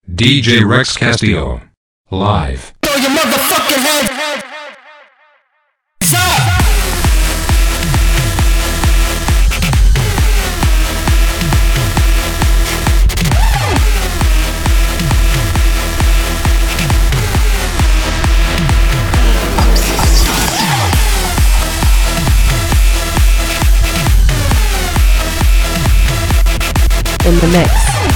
DJ Rex Castillo. Live. Throw your motherfucking head up! In the mix.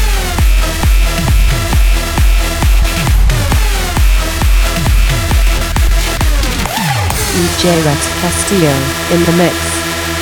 DJ Rex Castillo in the mix.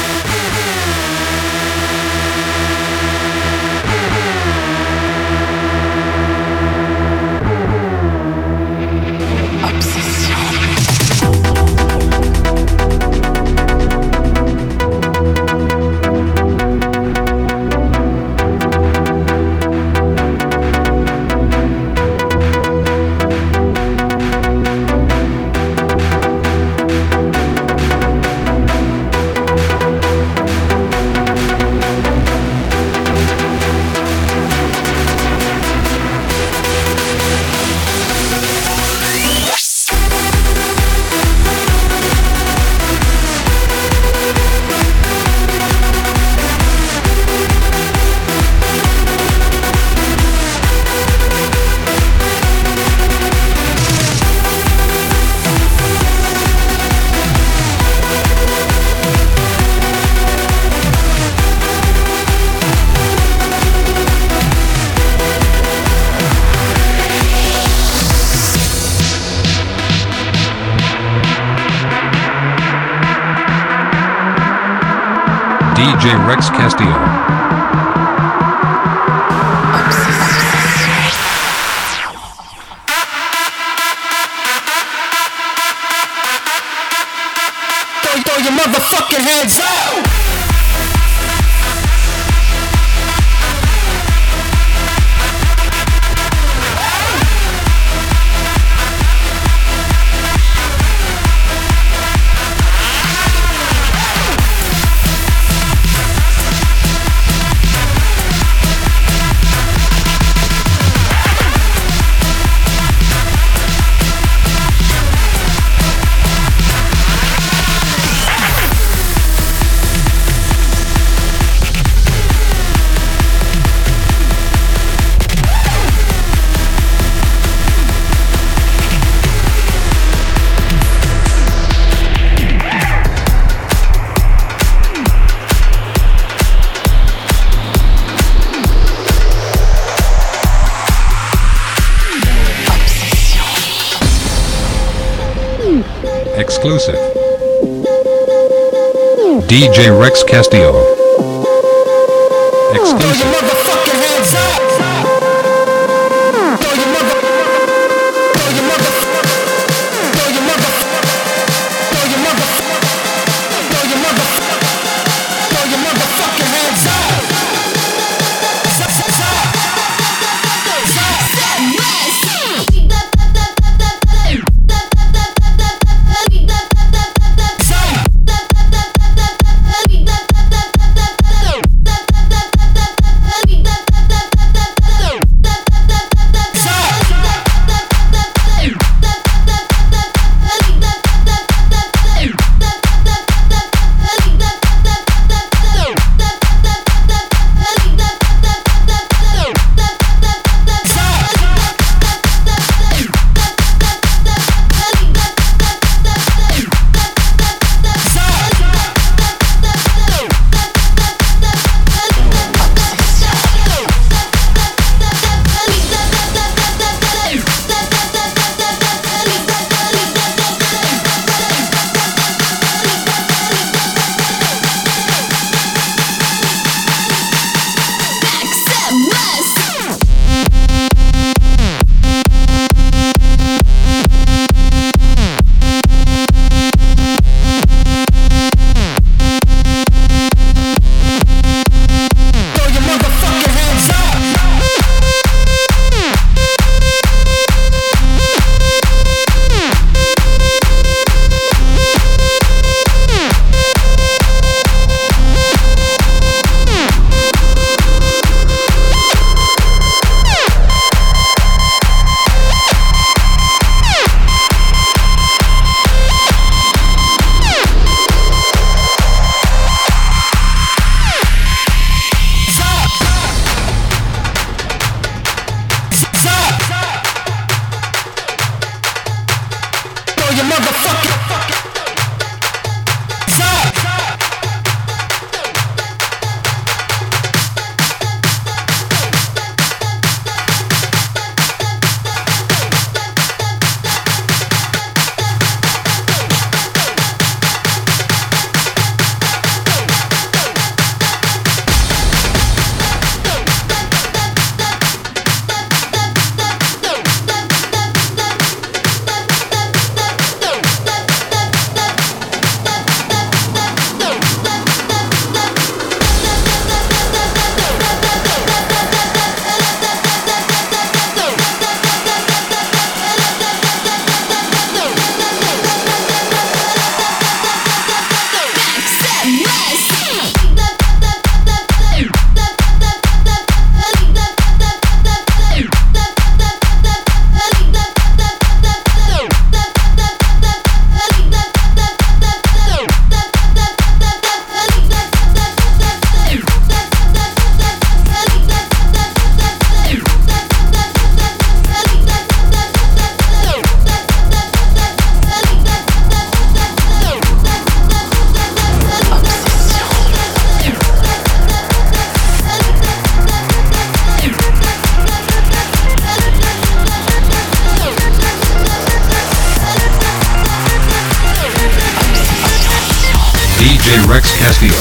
DJ Rex Castillo. Throw your motherfucking heads out! Exclusive. DJ Rex Castillo. Exclusive. We Rex Castillo.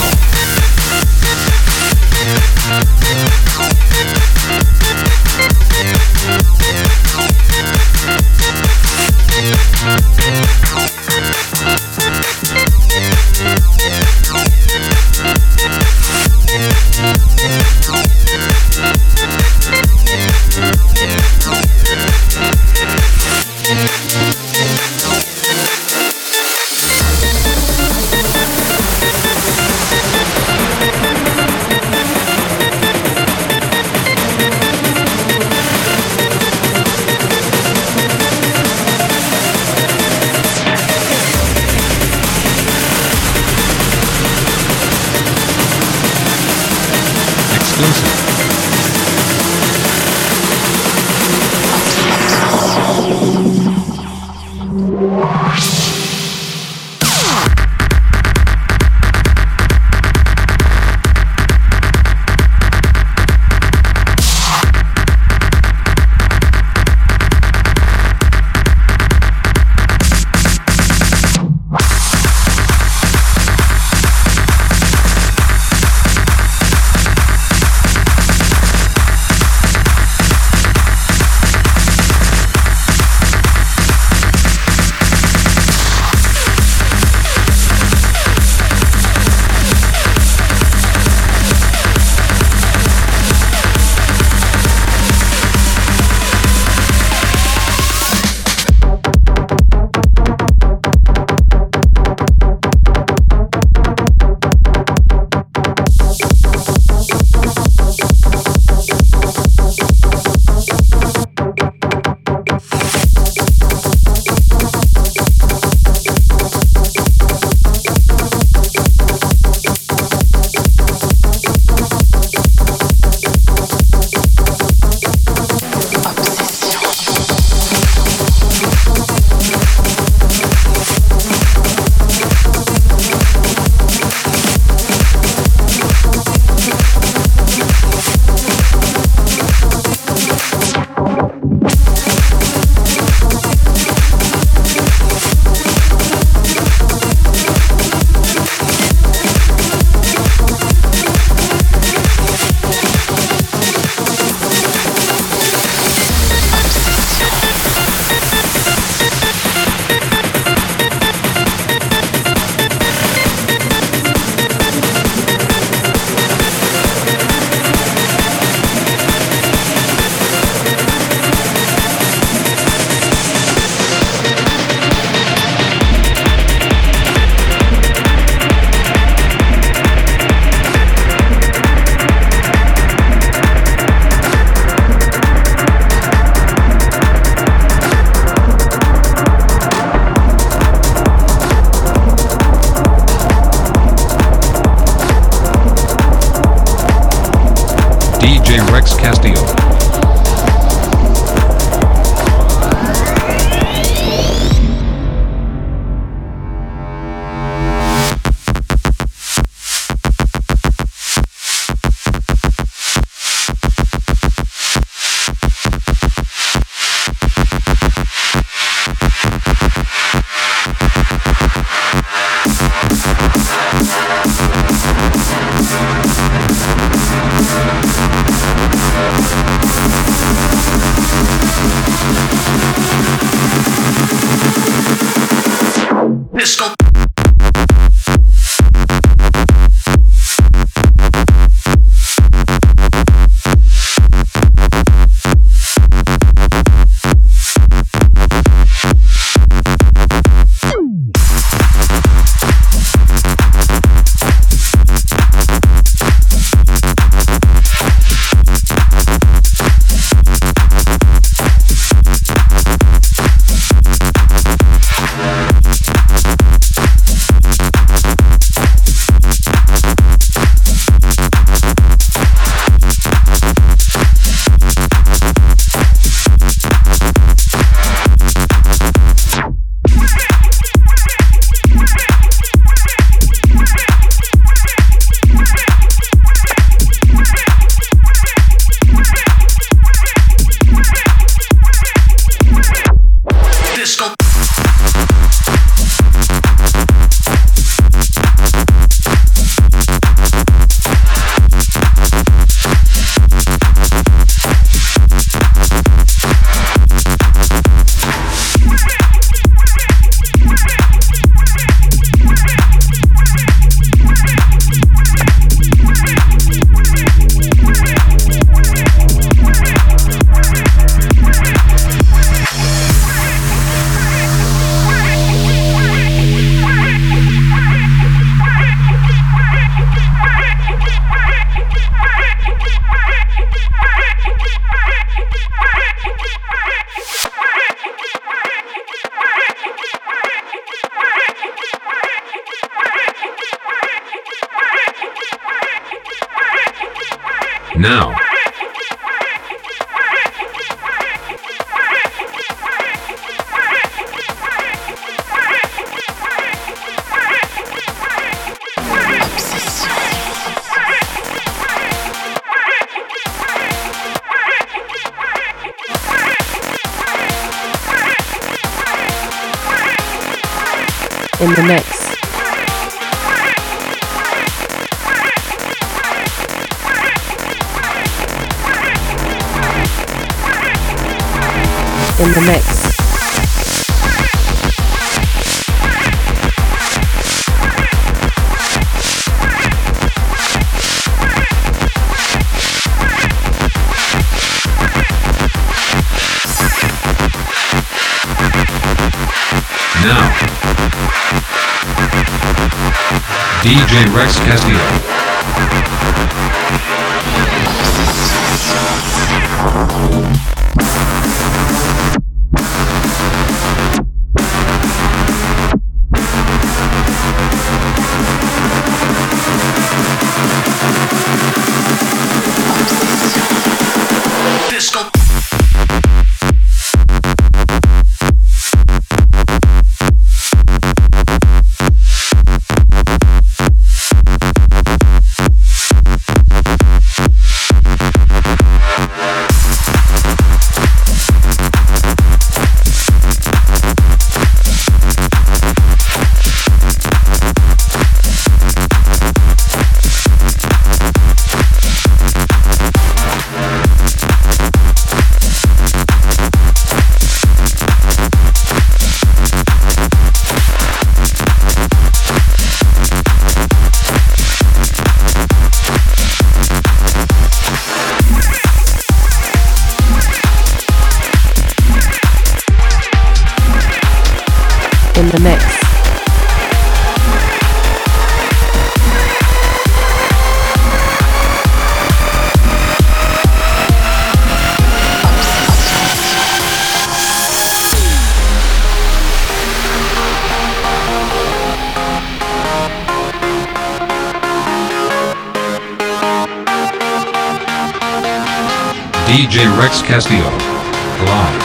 Exclusive. Now. In the mix. In the mix. Now. DJ Rex Castillo. In the mix. DJ Rex Castillo. Live.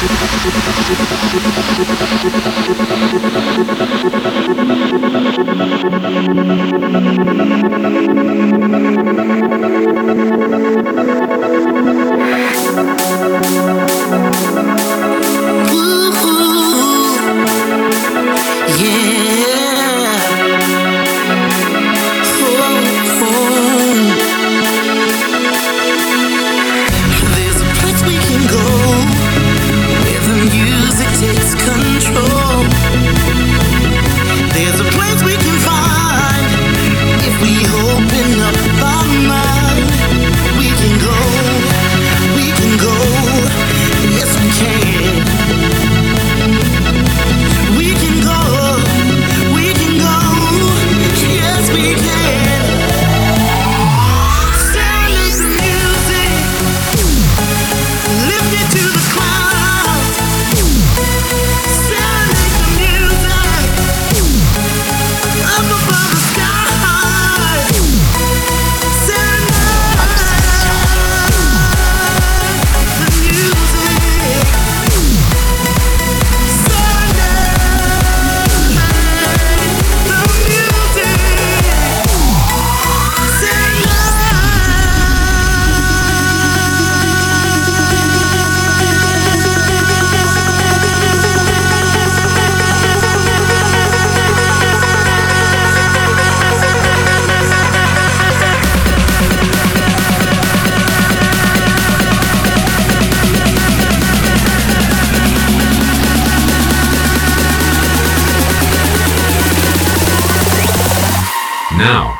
Now.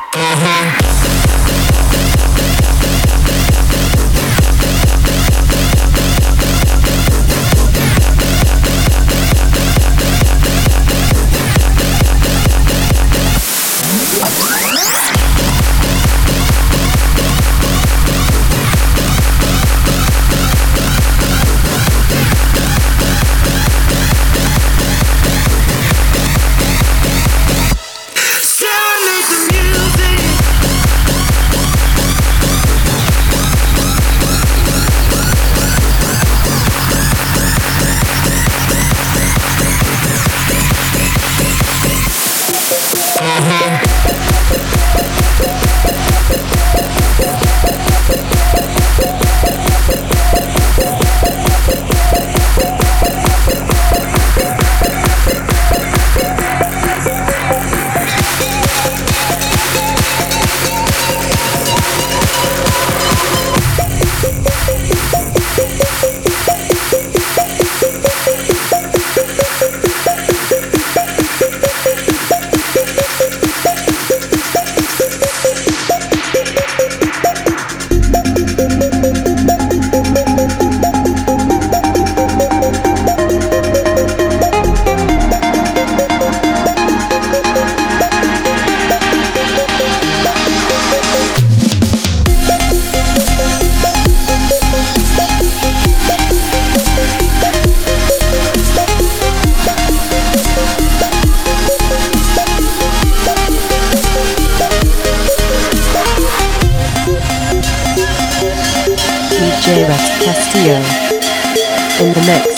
DJ Rex Castillo in the mix.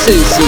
celle-ci.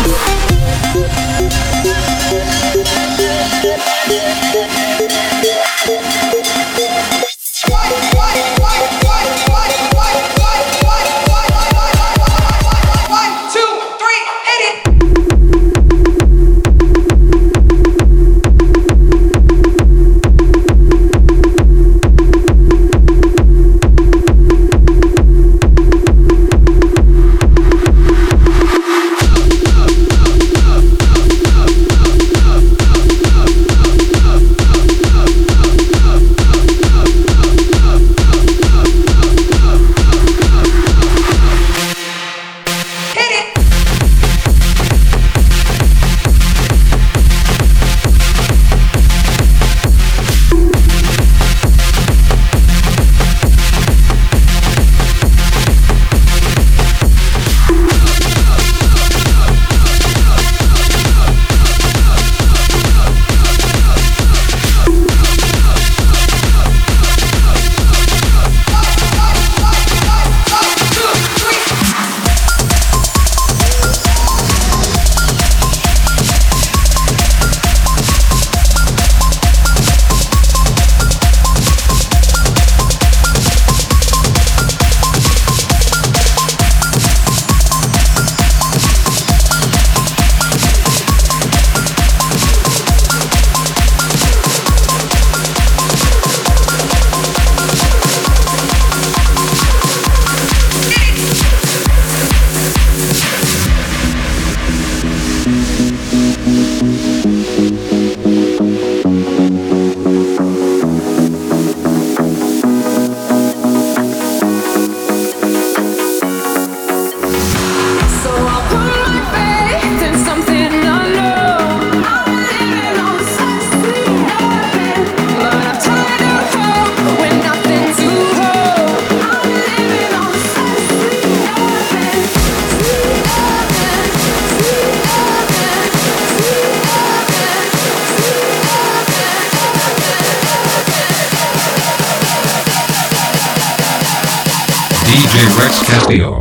DJ Rex Castillo.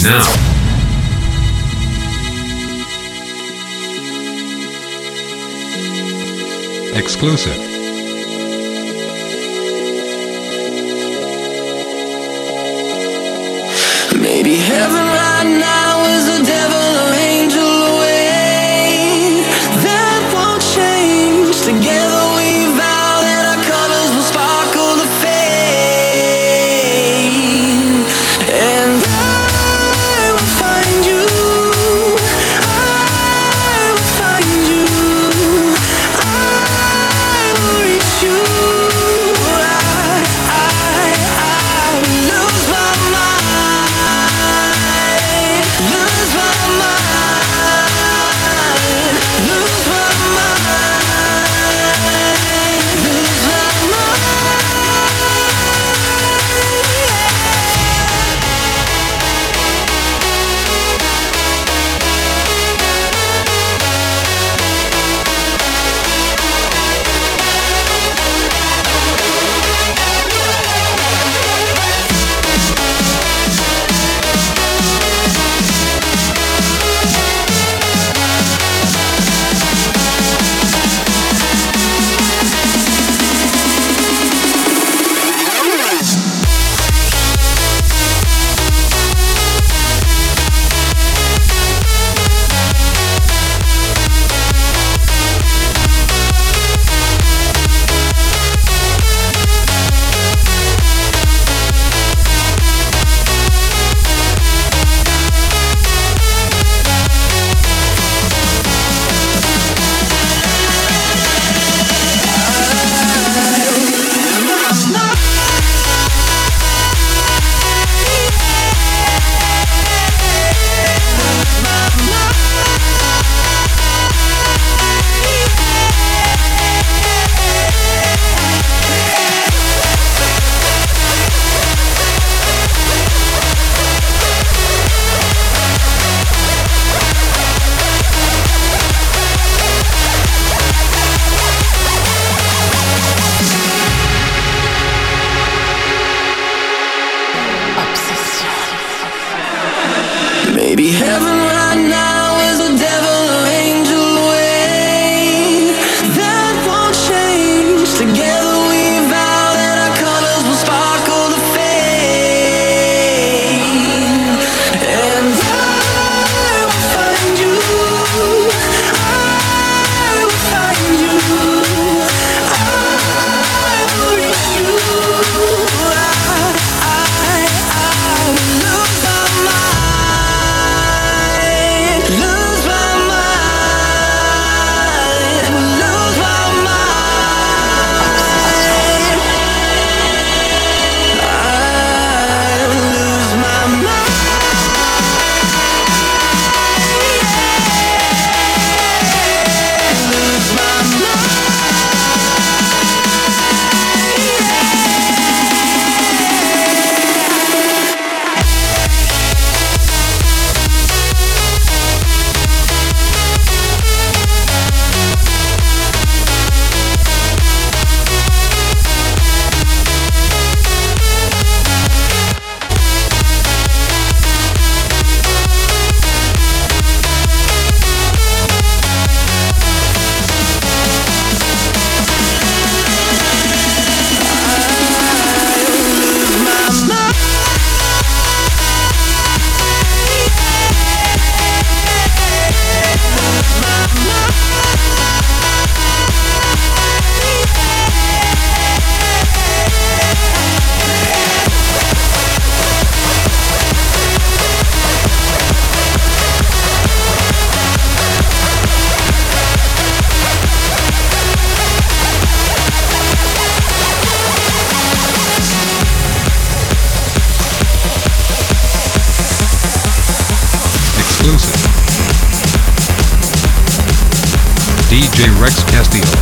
now. Exclusive. Maybe heaven right now is a devil or angel away. That won't change. Together we vow that our colors will sparkle the fame. And I will find you. I will find you. I will reach you. I will lose my mind. Lose my mind. Lose my mind. Lose my Maybe heaven right now is a devil or angel away. That won't change. Together we vow that our colors will sparkle the fame. And I will find you. I will find you. I will reach you. I will lose my mind. Lose my mind. Lose my mind. I lose my mind. Lose my mind. Exclusive. DJ Rex Castillo.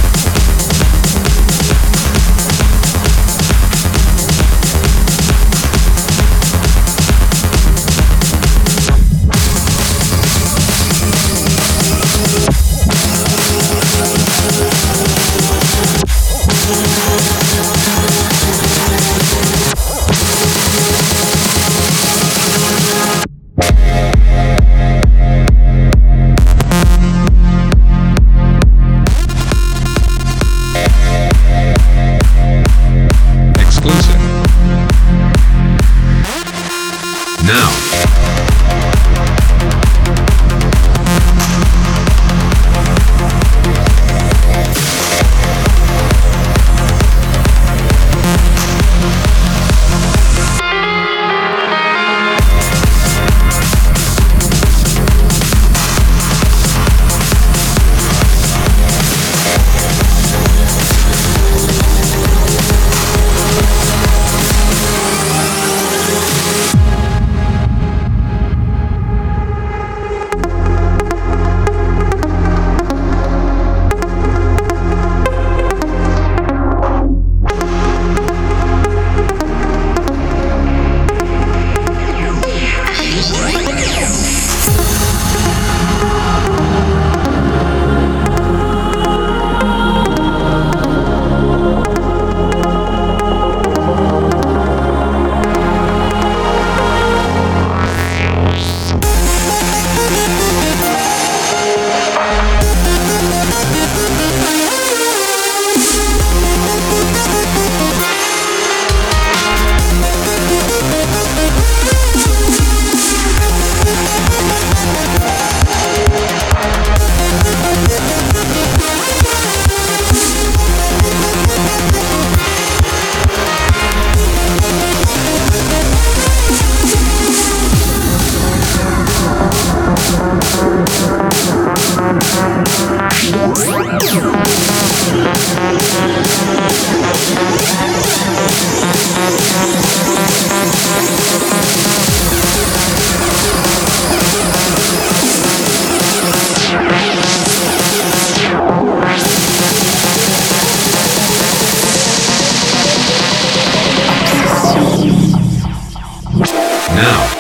Now.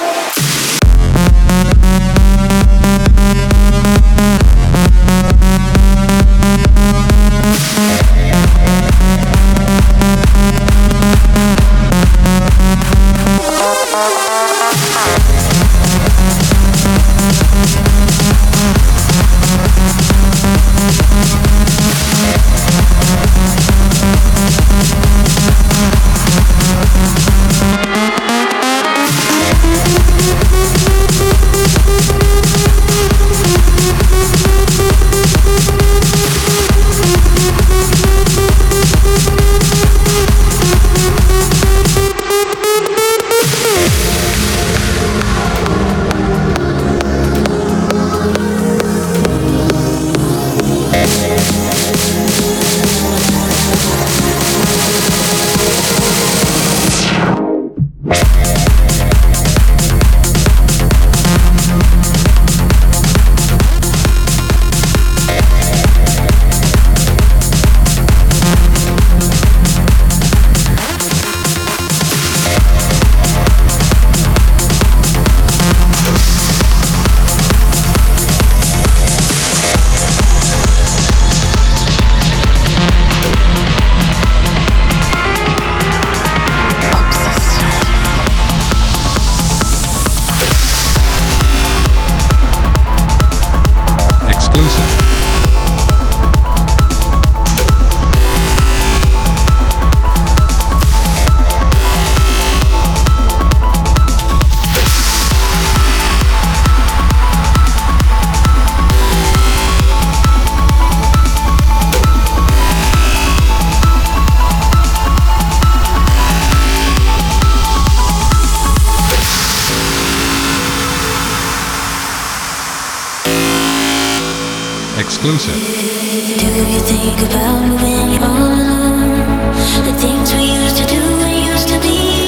Exclusive. Do you think about me when you're all alone? The things we used to do and used to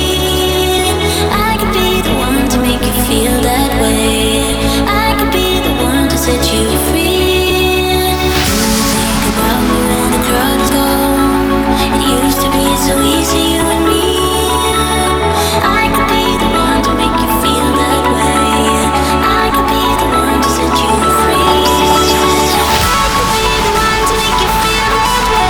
be. I could be the one to make you feel that way. I could be the one to set you free. Do you think about me when the crowd is gone? It used to be so easy, you and me. I could be the one to make you feel that way. I could be the one to set you free. I could be the one to make you feel that way.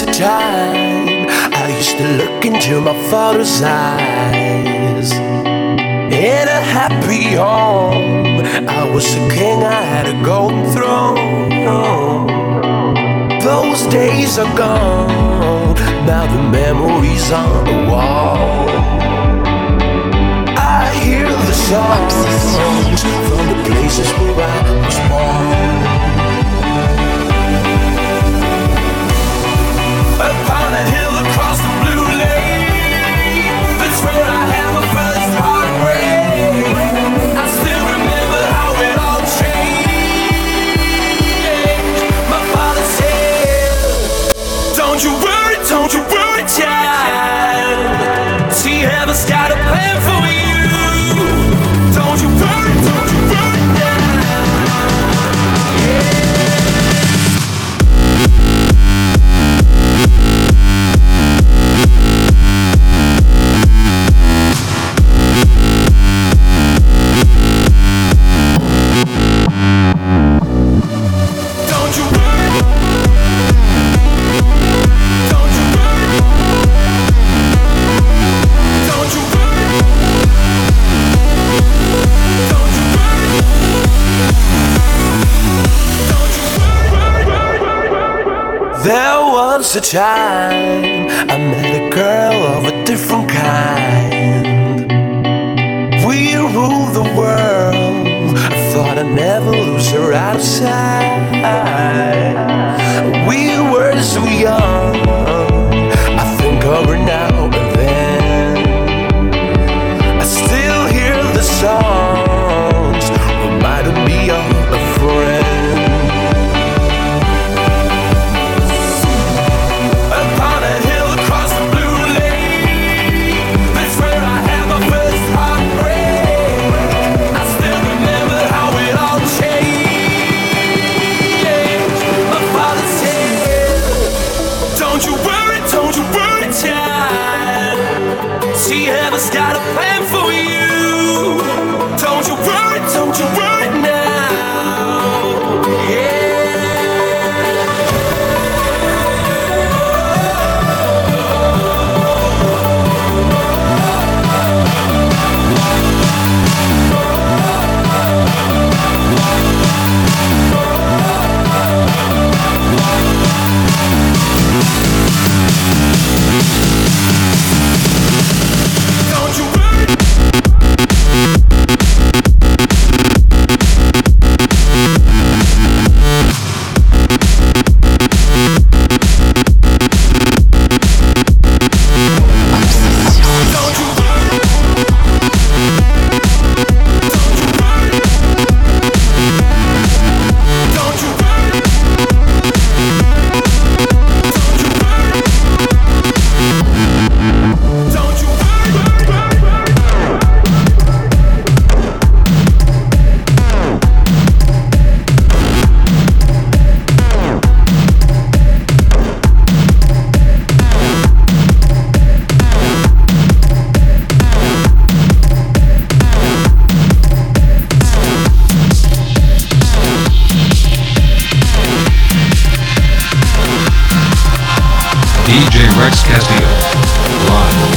a time I used to look into my father's eyes. In a happy home, I was a king, I had a golden throne. Those days are gone, now the memories on the wall. I hear the songs from the places where I was born. Upon a hill across the blue lake, that's where I had my first heartbreak. I still remember how it all changed. My father said, don't you worry, child. See, heaven's got a plan for you. Don't you worry now. Yeah. There was a time I met a girl of a different kind. We ruled the world. I thought I'd never lose her out of sight. We were so young. I think of her now and then. I still hear the songs reminding me of a friend. See, heaven's got a plan for you. Don't you worry now. Yeah. DJ Rex Castillo. Live.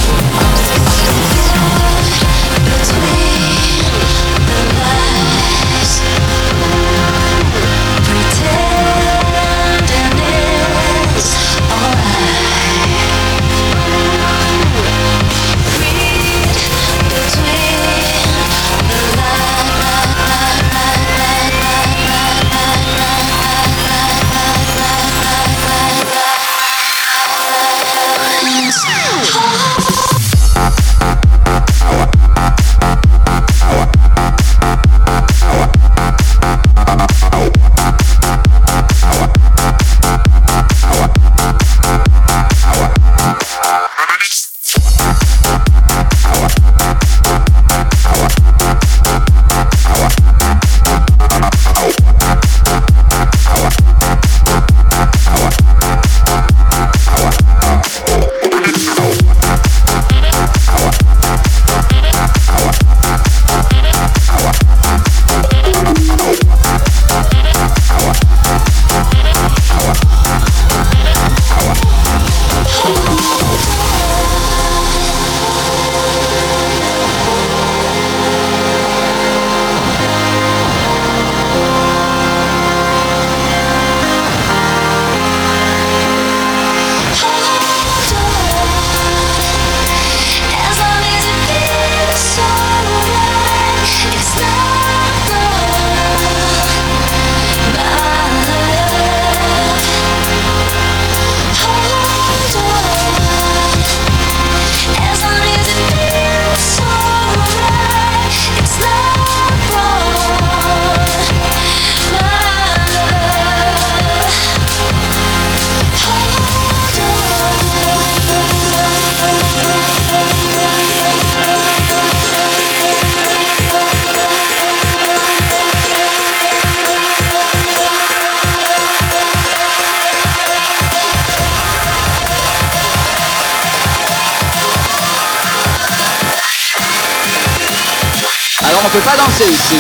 on peut pas danser ici.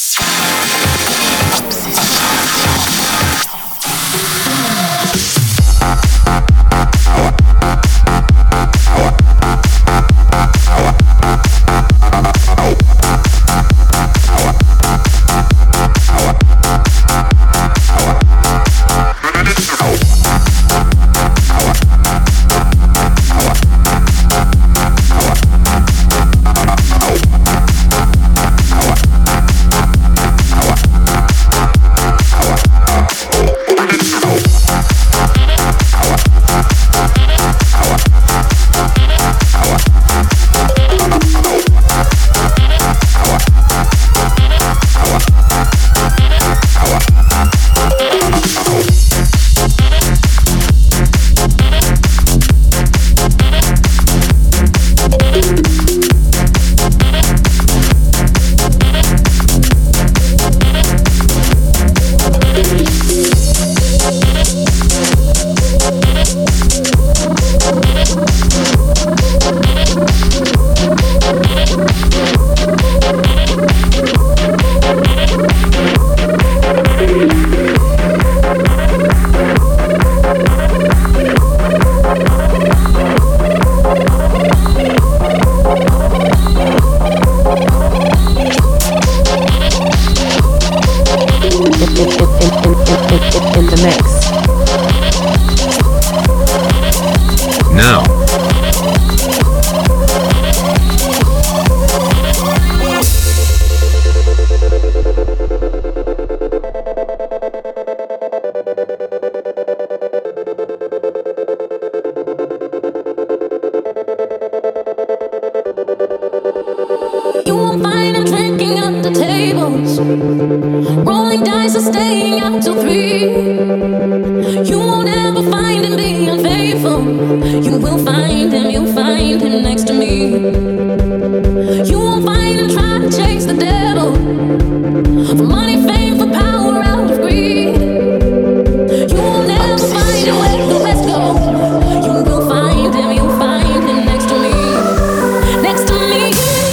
In the mix. Now. You won't find him drinking at the tables, rolling dice or staying out till 3. You won't ever find him being unfaithful. You will find him, you'll find him next to me. You won't find him trying to chase the devil, for money, fame, for power, out of greed. You won't ever find him where the rest go. You will find him, you'll find him next to me. Next to me.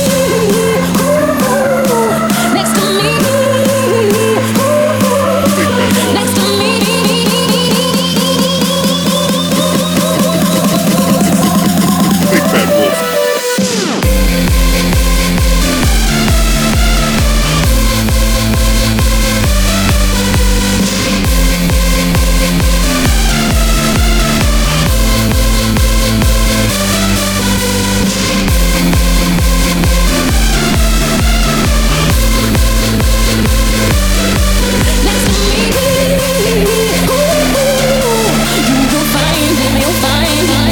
Next to me. Next to me. Big Bad Wolf. Next to me. You will find him, you'll find him.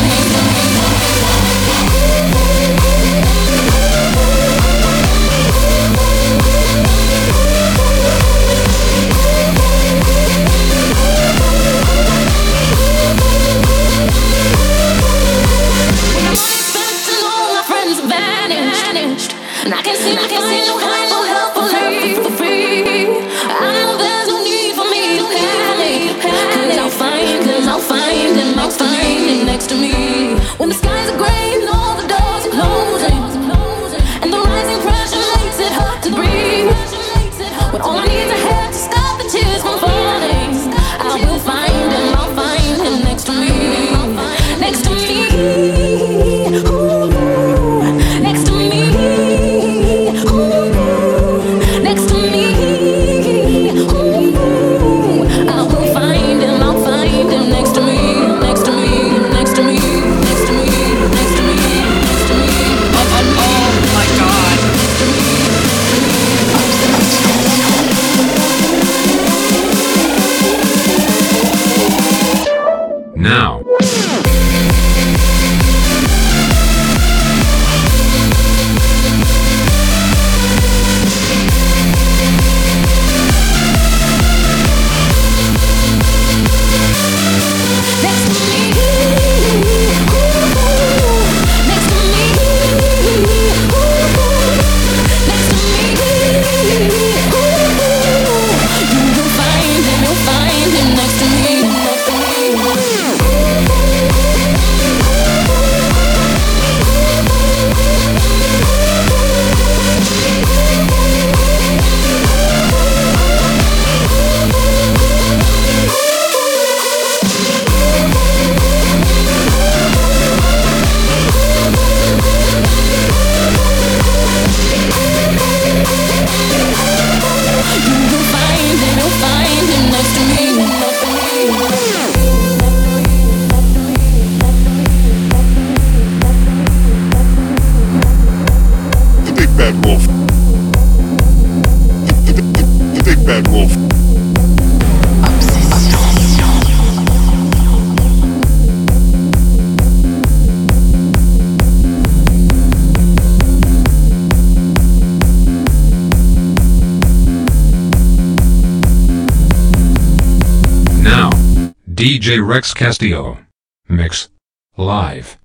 When I'm spent and all my friends have vanished, and I can see no kind of help for free. I know there's no need for me to panic, 'cause I'll find him, I'll find him, I'll find him next to me. When the skies are gray and all the doors are closing, and the rising pressure makes it hard to breathe. When all I need is a hand to stop the tears from falling, I will find him, I'll find him next to me. Next to me. Ooh. Next to me. Ooh. Next to me. Ooh. I will find him, I'll find him next to me. Next to me. Next to me. Next to me. Next to me. Next to me. Oh my God. Now. Next to me. Ooh. Next to me. Ooh. Next to me. Ooh. You will find him, you'll find him next to me. Next to me. bad wolf. The big bad wolf. Now, DJ Rex Castillo. Mix. Live.